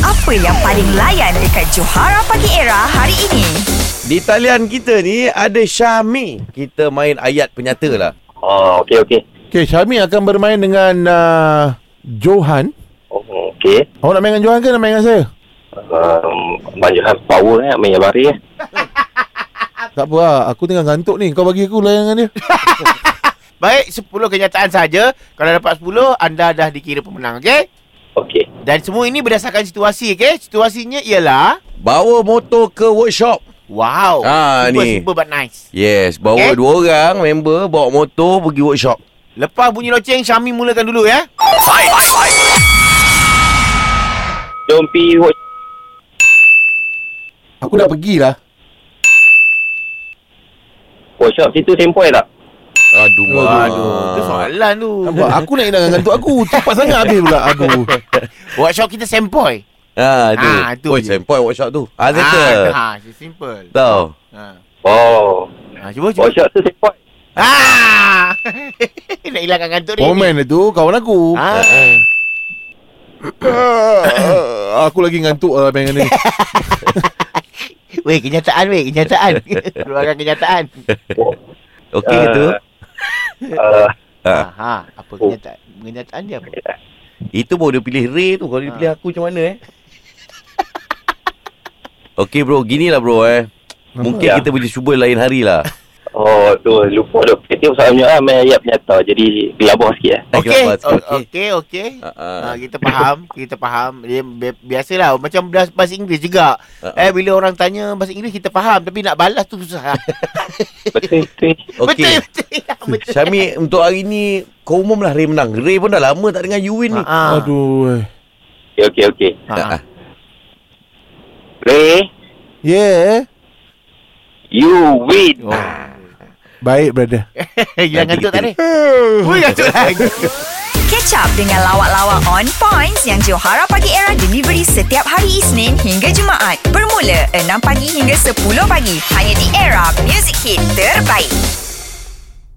Apa yang paling layan dekat Johara Pagi Era hari ini? Di talian kita ni ada Syami. Kita main ayat penyata lah. Oh, okey. Okey, Syami akan bermain dengan Johan. Oh, okey. Awak nak main dengan Johan ke nak main dengan saya? Banyak power main yang bari Tak apa lah, aku tengah ngantuk ni. Kau bagi aku layan dengan dia. Baik, 10 kenyataan saja. Kalau dapat 10, anda dah dikira pemenang, okey? Okey. Dan semua ini berdasarkan situasi, okey? Situasinya ialah... Bawa motor ke workshop. Wow. Super but nice. Yes, bawa Okay. 2 orang member bawa motor pergi workshop. Lepas bunyi loceng, Syami mulakan dulu ya. Jom pergi Aku dah pergilah. workshop situ sempoi tak? Aduh, itu soalan tu. Nampak? Aku nak hilang ngantuk aku. Cepat sangat habis pula. Aduh. Workshop kita sempoi. Tu. tu Oh, je. sempoi workshop tu. Settle. Simple. Tahu. Oh. Cuba. Workshop tu sempoi. Nak hilangkan ngantuk ni. Komen tu kawan aku. Aku lagi ngantuk lah main dengan dia. Weh, kenyataan. Keluarkan kenyataan. Okey ke tu? Apa kenyataan? Kenyataan dia apa? Itu baru dia pilih Ray tu. Kalau dia pilih aku macam mana Okey bro, ginilah bro Mungkin kita boleh cuba lain hari lah. Oh, tu lupa dah. Tengok soalannya main ayat penyata. Jadi gelabah sikit Okey. Kita faham. Dia biasalah macam bahasa Inggeris juga. Bila orang tanya bahasa Inggeris kita faham, tapi nak balas tu susah. Betul. Okey. Syami, untuk hari ni kau umum lah Ray menang. Ray pun dah lama tak dengar you win ni. Aduh. Okey. Ray, Yeah. you win. Baik, brother. Hilang ngantuk tak ni? Ngantuk lagi. Catch up dengan lawak-lawak on points yang Johara Pagi Era delivery setiap hari Isnin hingga Jumaat. Bermula 6 pagi hingga 10 pagi. Hanya di Era Music Hit terbaik.